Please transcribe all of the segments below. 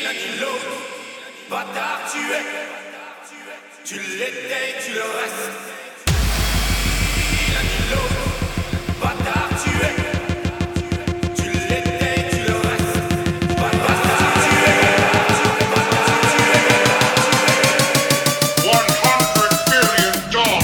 l'un ni l'autre. Bâtard tu es, tu l'étais et tu le restes. L'un ni l'autre. Bâtard tu es, tu l'étais et tu le restes. Bâtard tu es, bâtard tu es. $100 billion.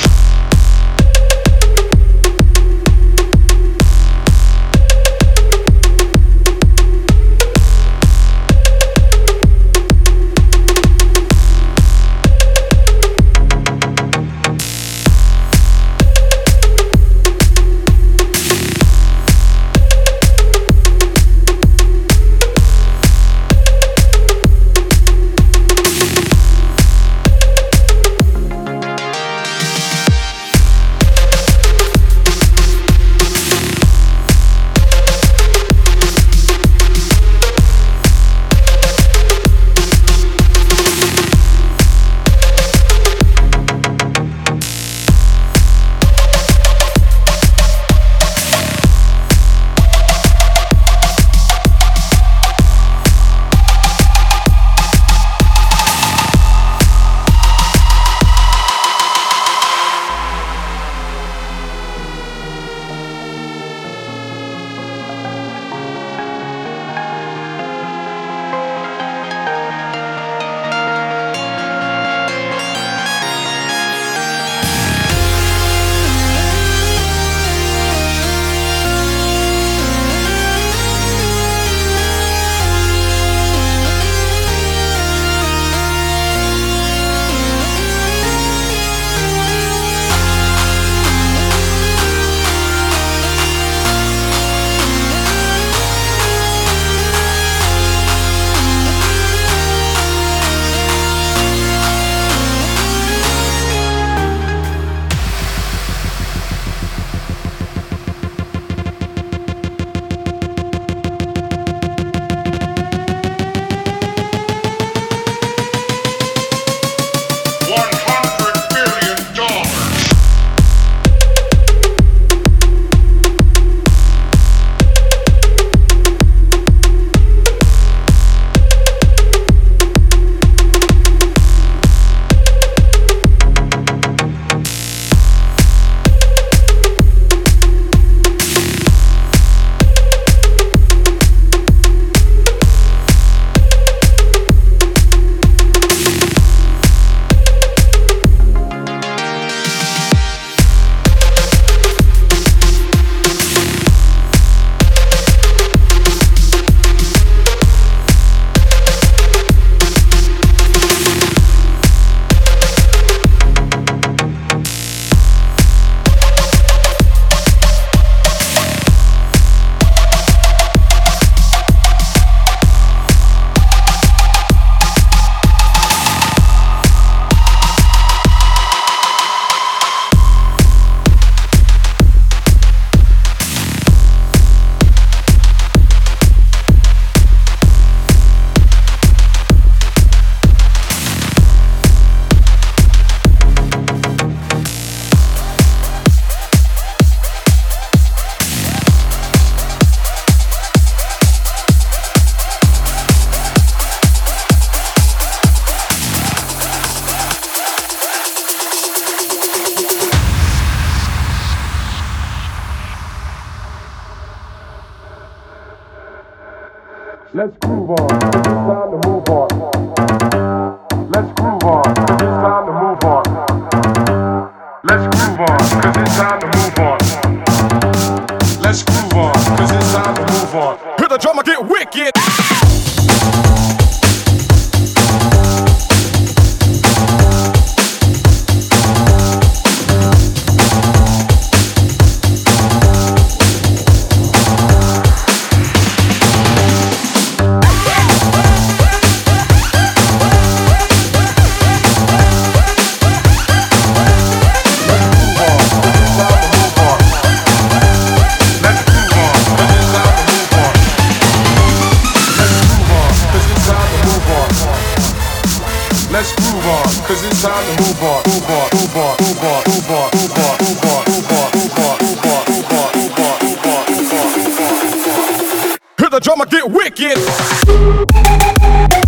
Let's groove on, it's time to move on. Let's groove on, it's time to move on. Let's groove on, cause it's time to move on. Let's groove on, cause it's time to move on. Hear the drummer get wicked. Let's groove on, cause it's time to move on. Move on, move on, move on, move on, move on, move on, move on, move on, move on, move on, move on, move on, move on, move on. Hear the drummer get wicked.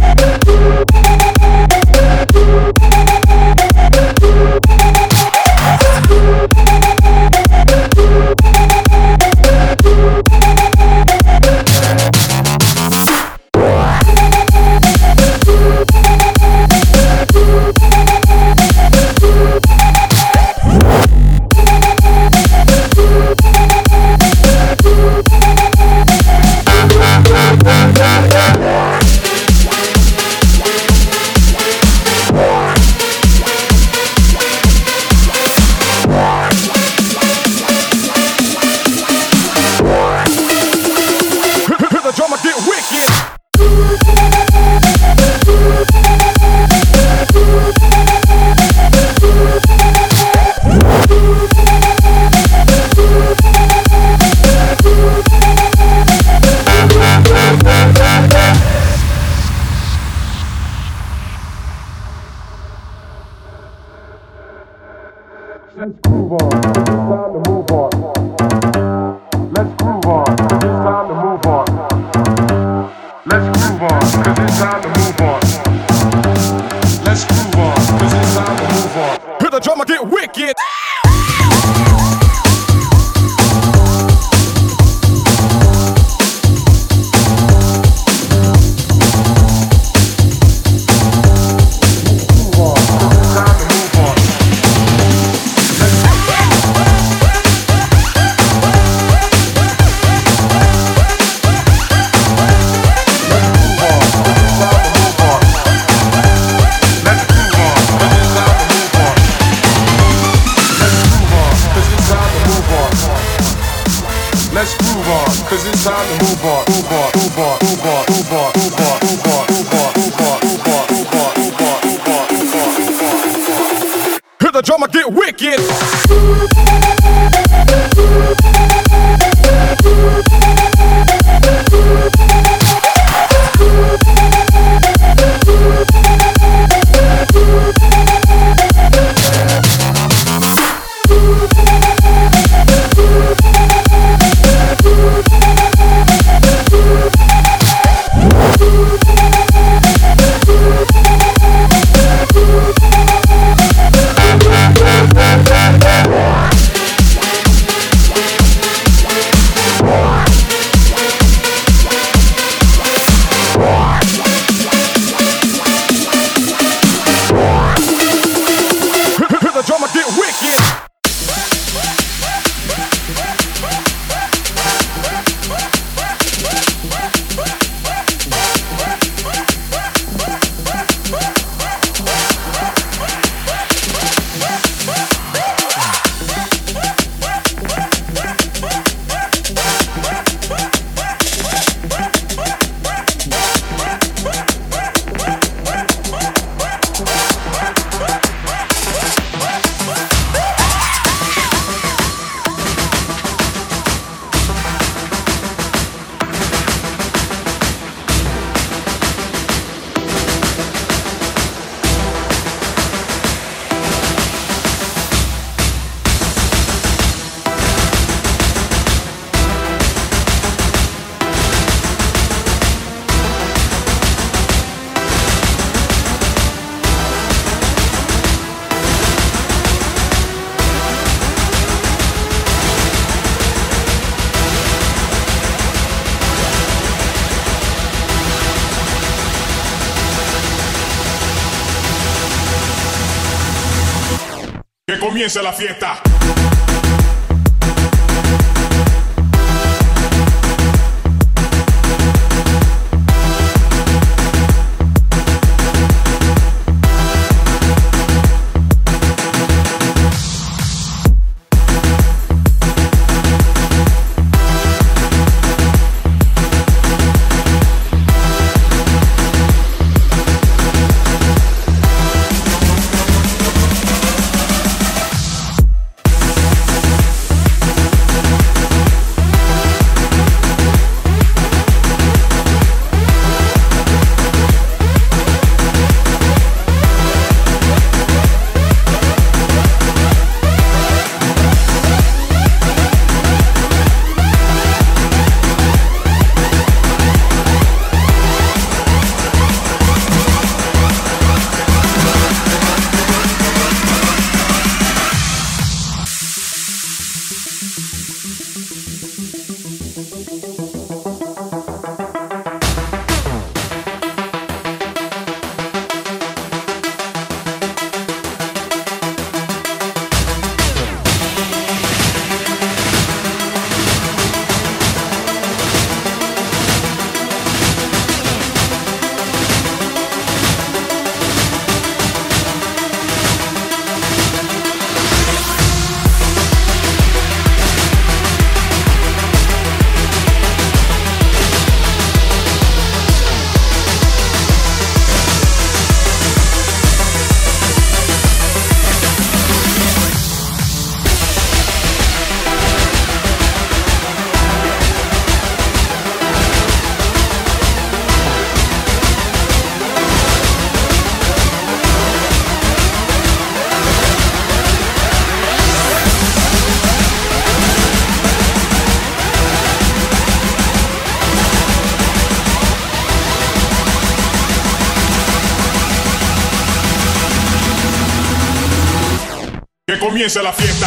Que comience la fiesta. Que comience la fiesta.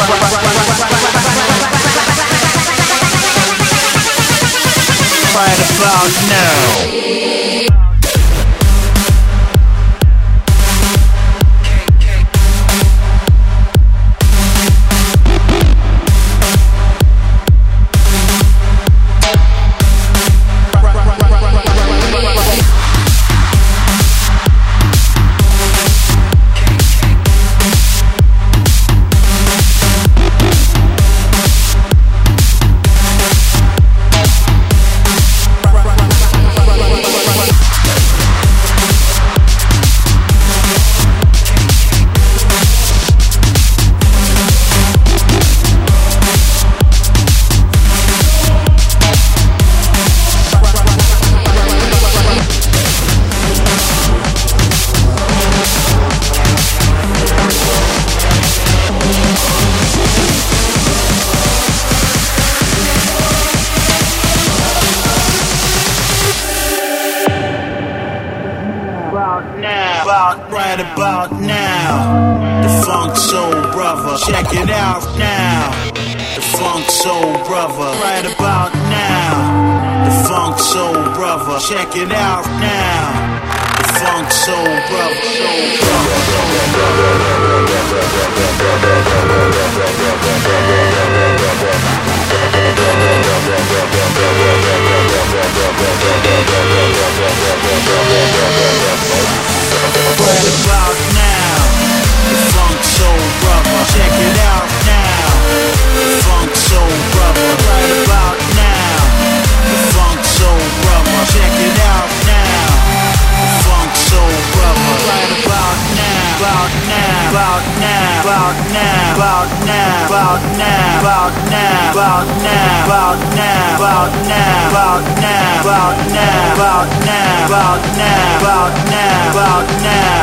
Right about now. Right about now, the Funk Soul Brother. Check it out now, the Funk Soul Brother. Right about now, the Funk Soul Brother. Check it out now, the Funk Soul Brother. Right about now, the Funk Soul Brother. Check it out now, the Funk Soul Brother. Right about now, the Funk Soul Brother. Check it out now, the Funk Soul Brother. Right about now, about now, about now, about now, about now, about now, about now, about now, about now, about now, about now, about now, about now, about now, about now, about now,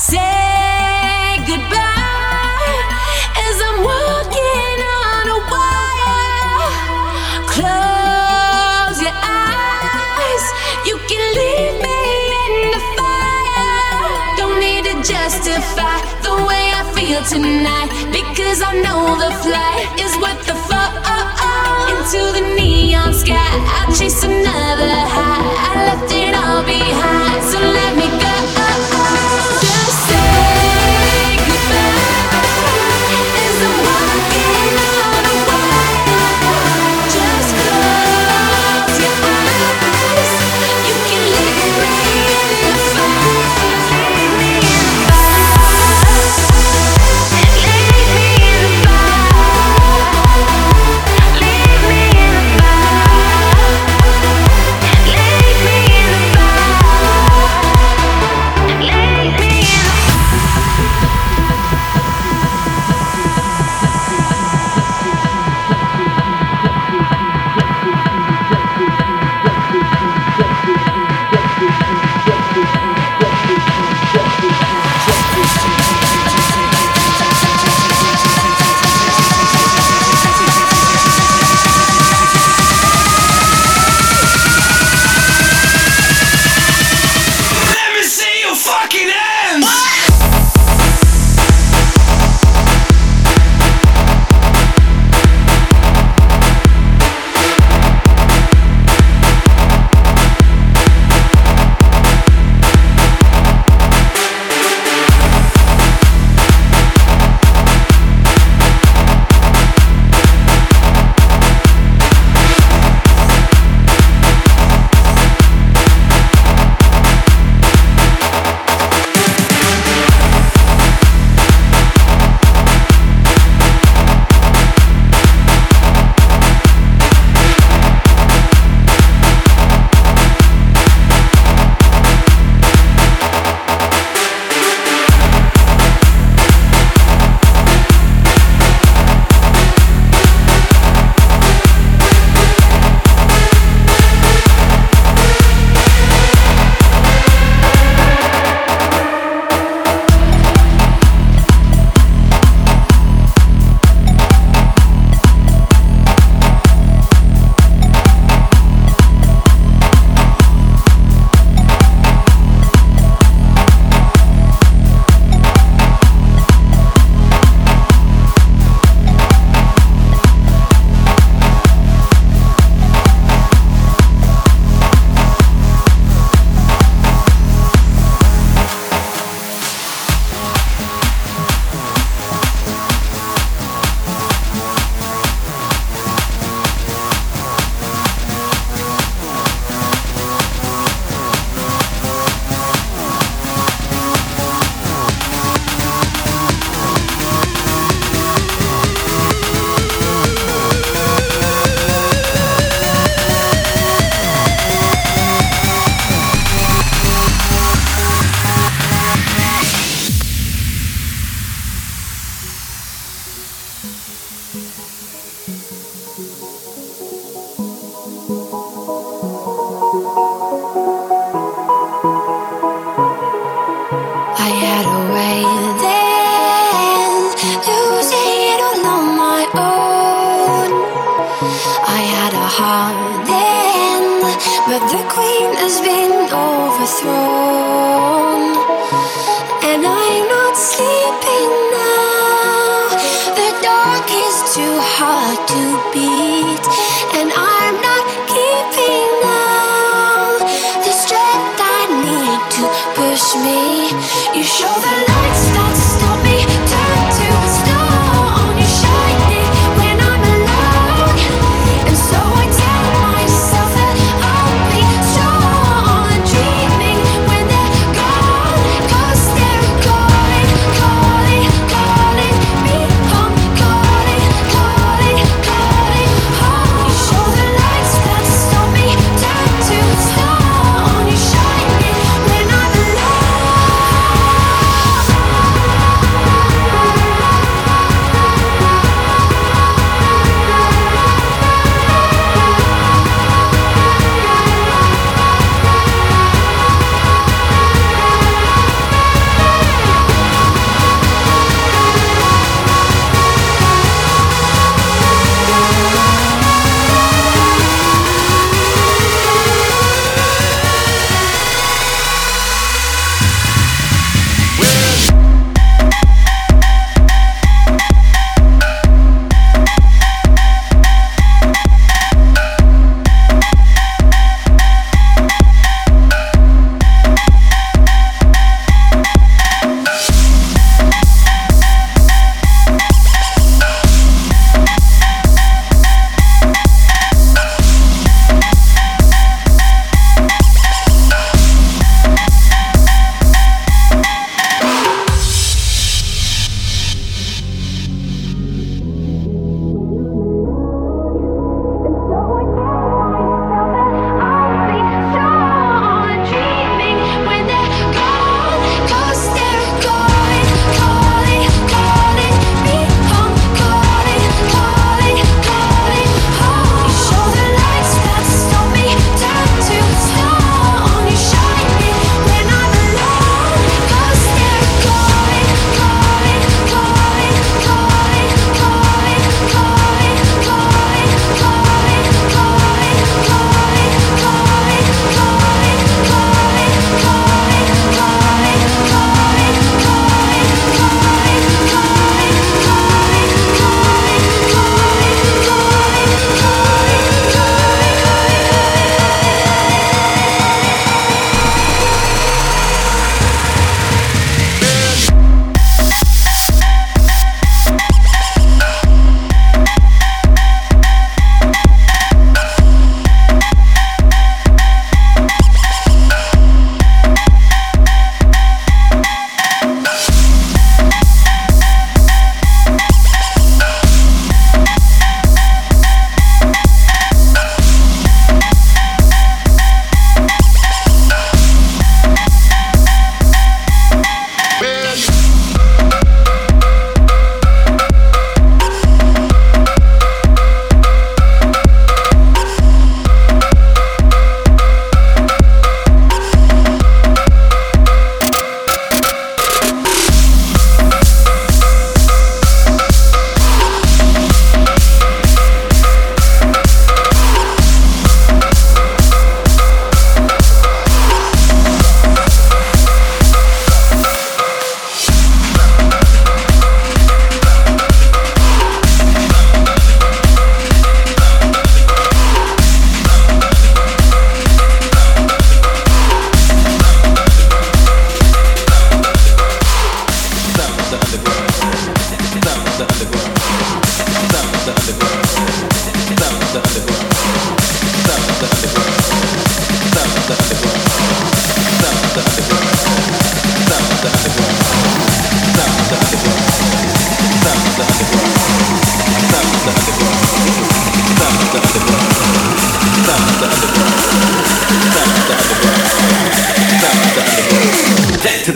Say goodbye as I'm walking on a wire. Close your eyes, you can leave me in the fire. Don't need to justify the way I feel tonight, because I know the flight is worth the fall. Into the neon sky, I'll chase another high. I left it all behind, so let me go. Just say goodbye as I'm walking on a wire. Just close your eyes, you can leave me in the fire. Leave me in the fire. Leave me in the fire. Leave me in the But the queen has been overthrown, and I'm not sleeping now. The dark is too hard to beat, and I'm not keeping now the strength I need to push me. You show the lights that stop me, turn to stone. You shine it when I'm alone, and so I tell myself that I'll be strong and dreaming when they're gone. 'Cause they're calling, calling, calling me home, calling, calling, calling home. You show the lights that stop me, turn to stone. You shine it when I'm alone.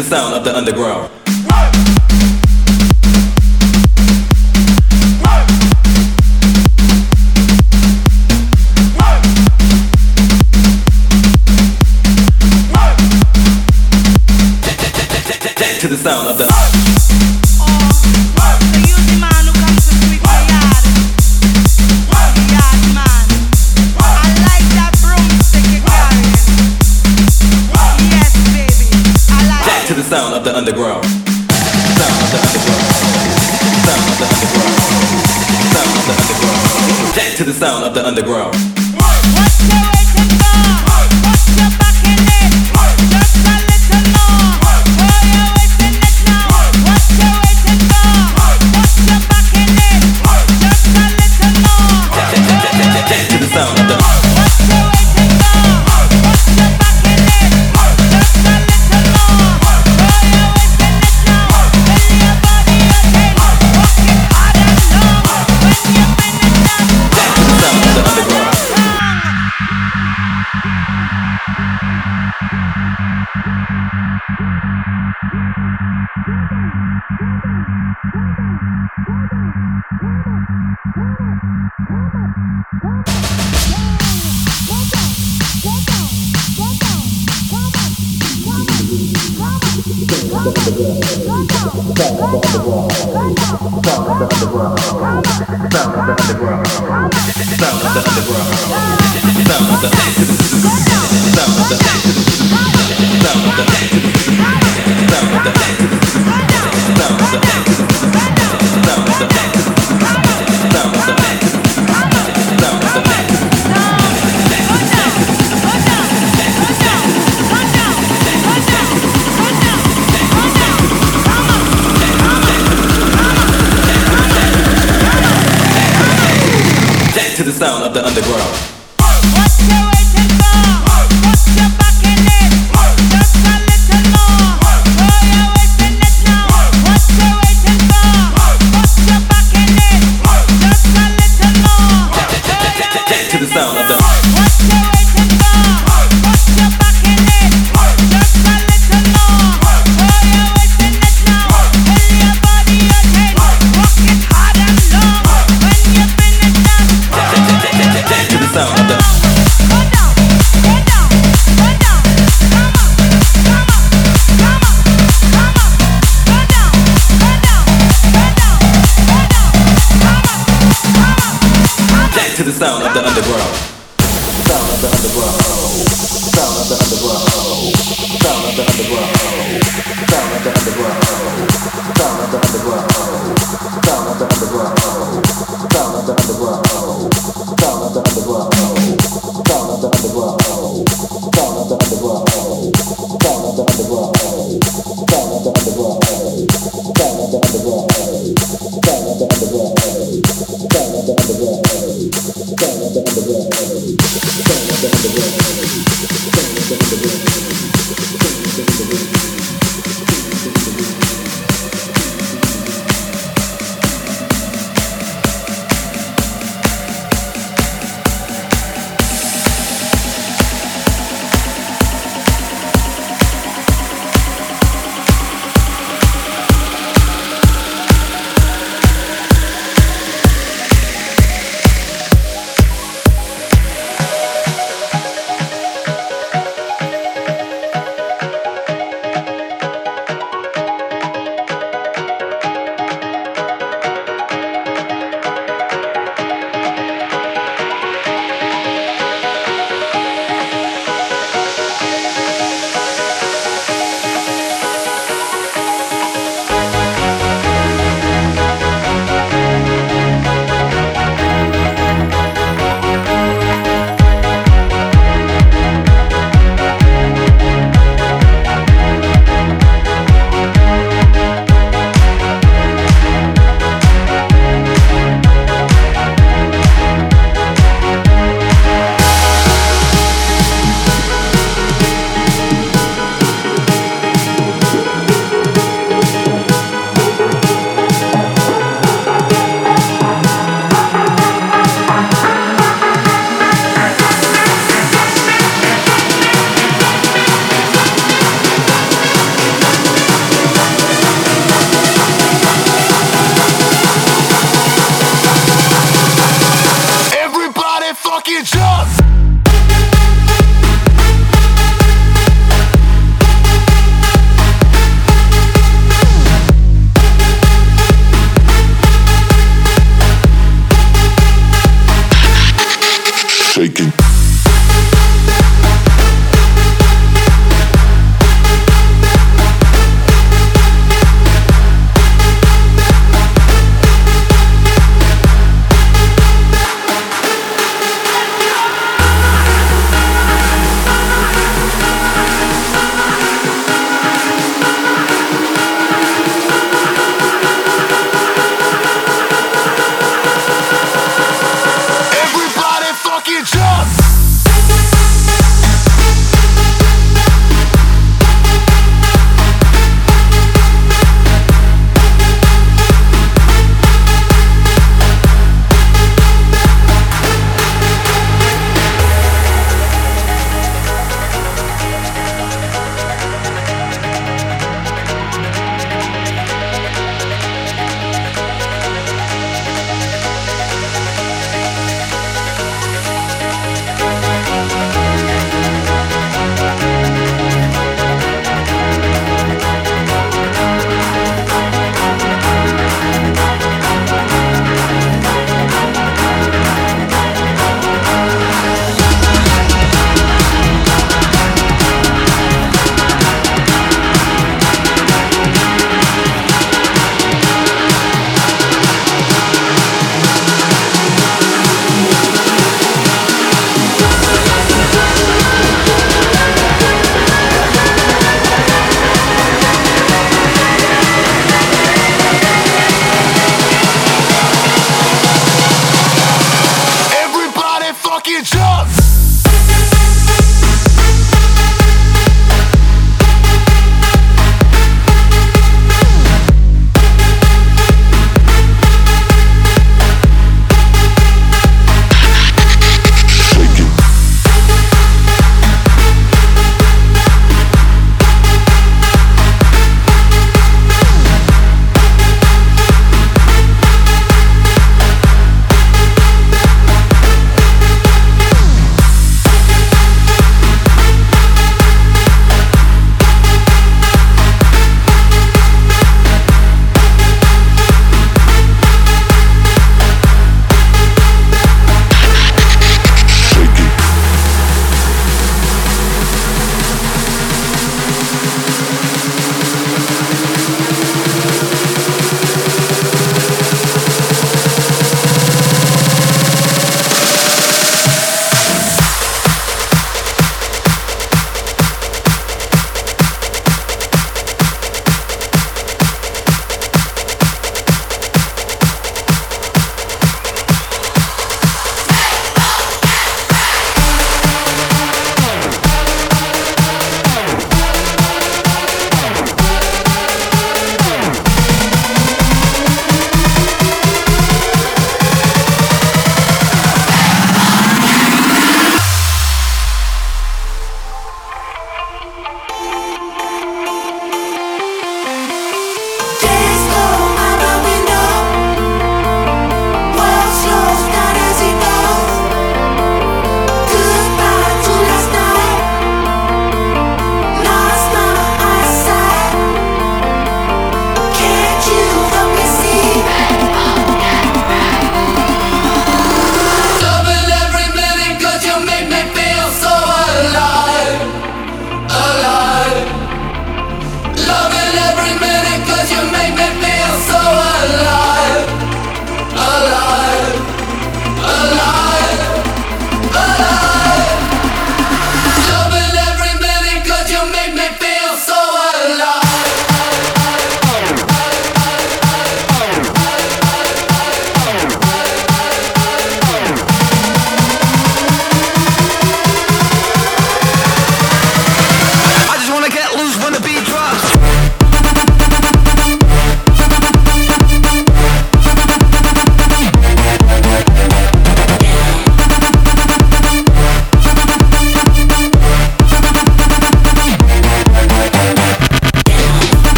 the sound of the underground. To the sound of the to the sound of the underground. Sound of the underground. Sound of the underground. Sound of the underground. To the sound of the underground. What you waiting for? Put your back in it. Just a little more. Oh, you're wasting it now. What you waiting for? Put your back in it. Just a little more. To the sound of the. What you waiting for? Put your back in it. Just a little more. Oh, you're wasting it now. Fill your body again. Walk it hard and long. When you finish that, To the sound of the underground. To the sound of the underground. What you waiting for? Put your back in it. Just a little more. Oh, you're wasting it now. What you waiting for? Put your back in it. Just a little more. Oh, you're wasting To the sound of the. What you waiting for? Put your back in it. Just a little more. Oh, you're wasting it now. Fill your body again. Walk it hard and long. When you finish that. To the sound of the. Go down, go down, go down. Come on, come on, come on, come on. Go down, go down, go down, go down. Come on, come on, come on. To the sound of the underground. Sound of the underground. Sound of the underground. Sound of the underground. Sound of the underground. Sound of the underground. Sound of the underground. Sound of the underground. Sound of the underground. Sound of the underground. Sound of the underground. Sound of the underground. Sound of the underground. Sound of the underground. Sound of the underground. Sound of the underground. Sound of the underground.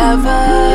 forever.